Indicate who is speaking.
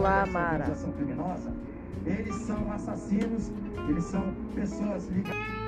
Speaker 1: Olá, Mara.
Speaker 2: Criminosa, eles são assassinos, eles são pessoas ligadas.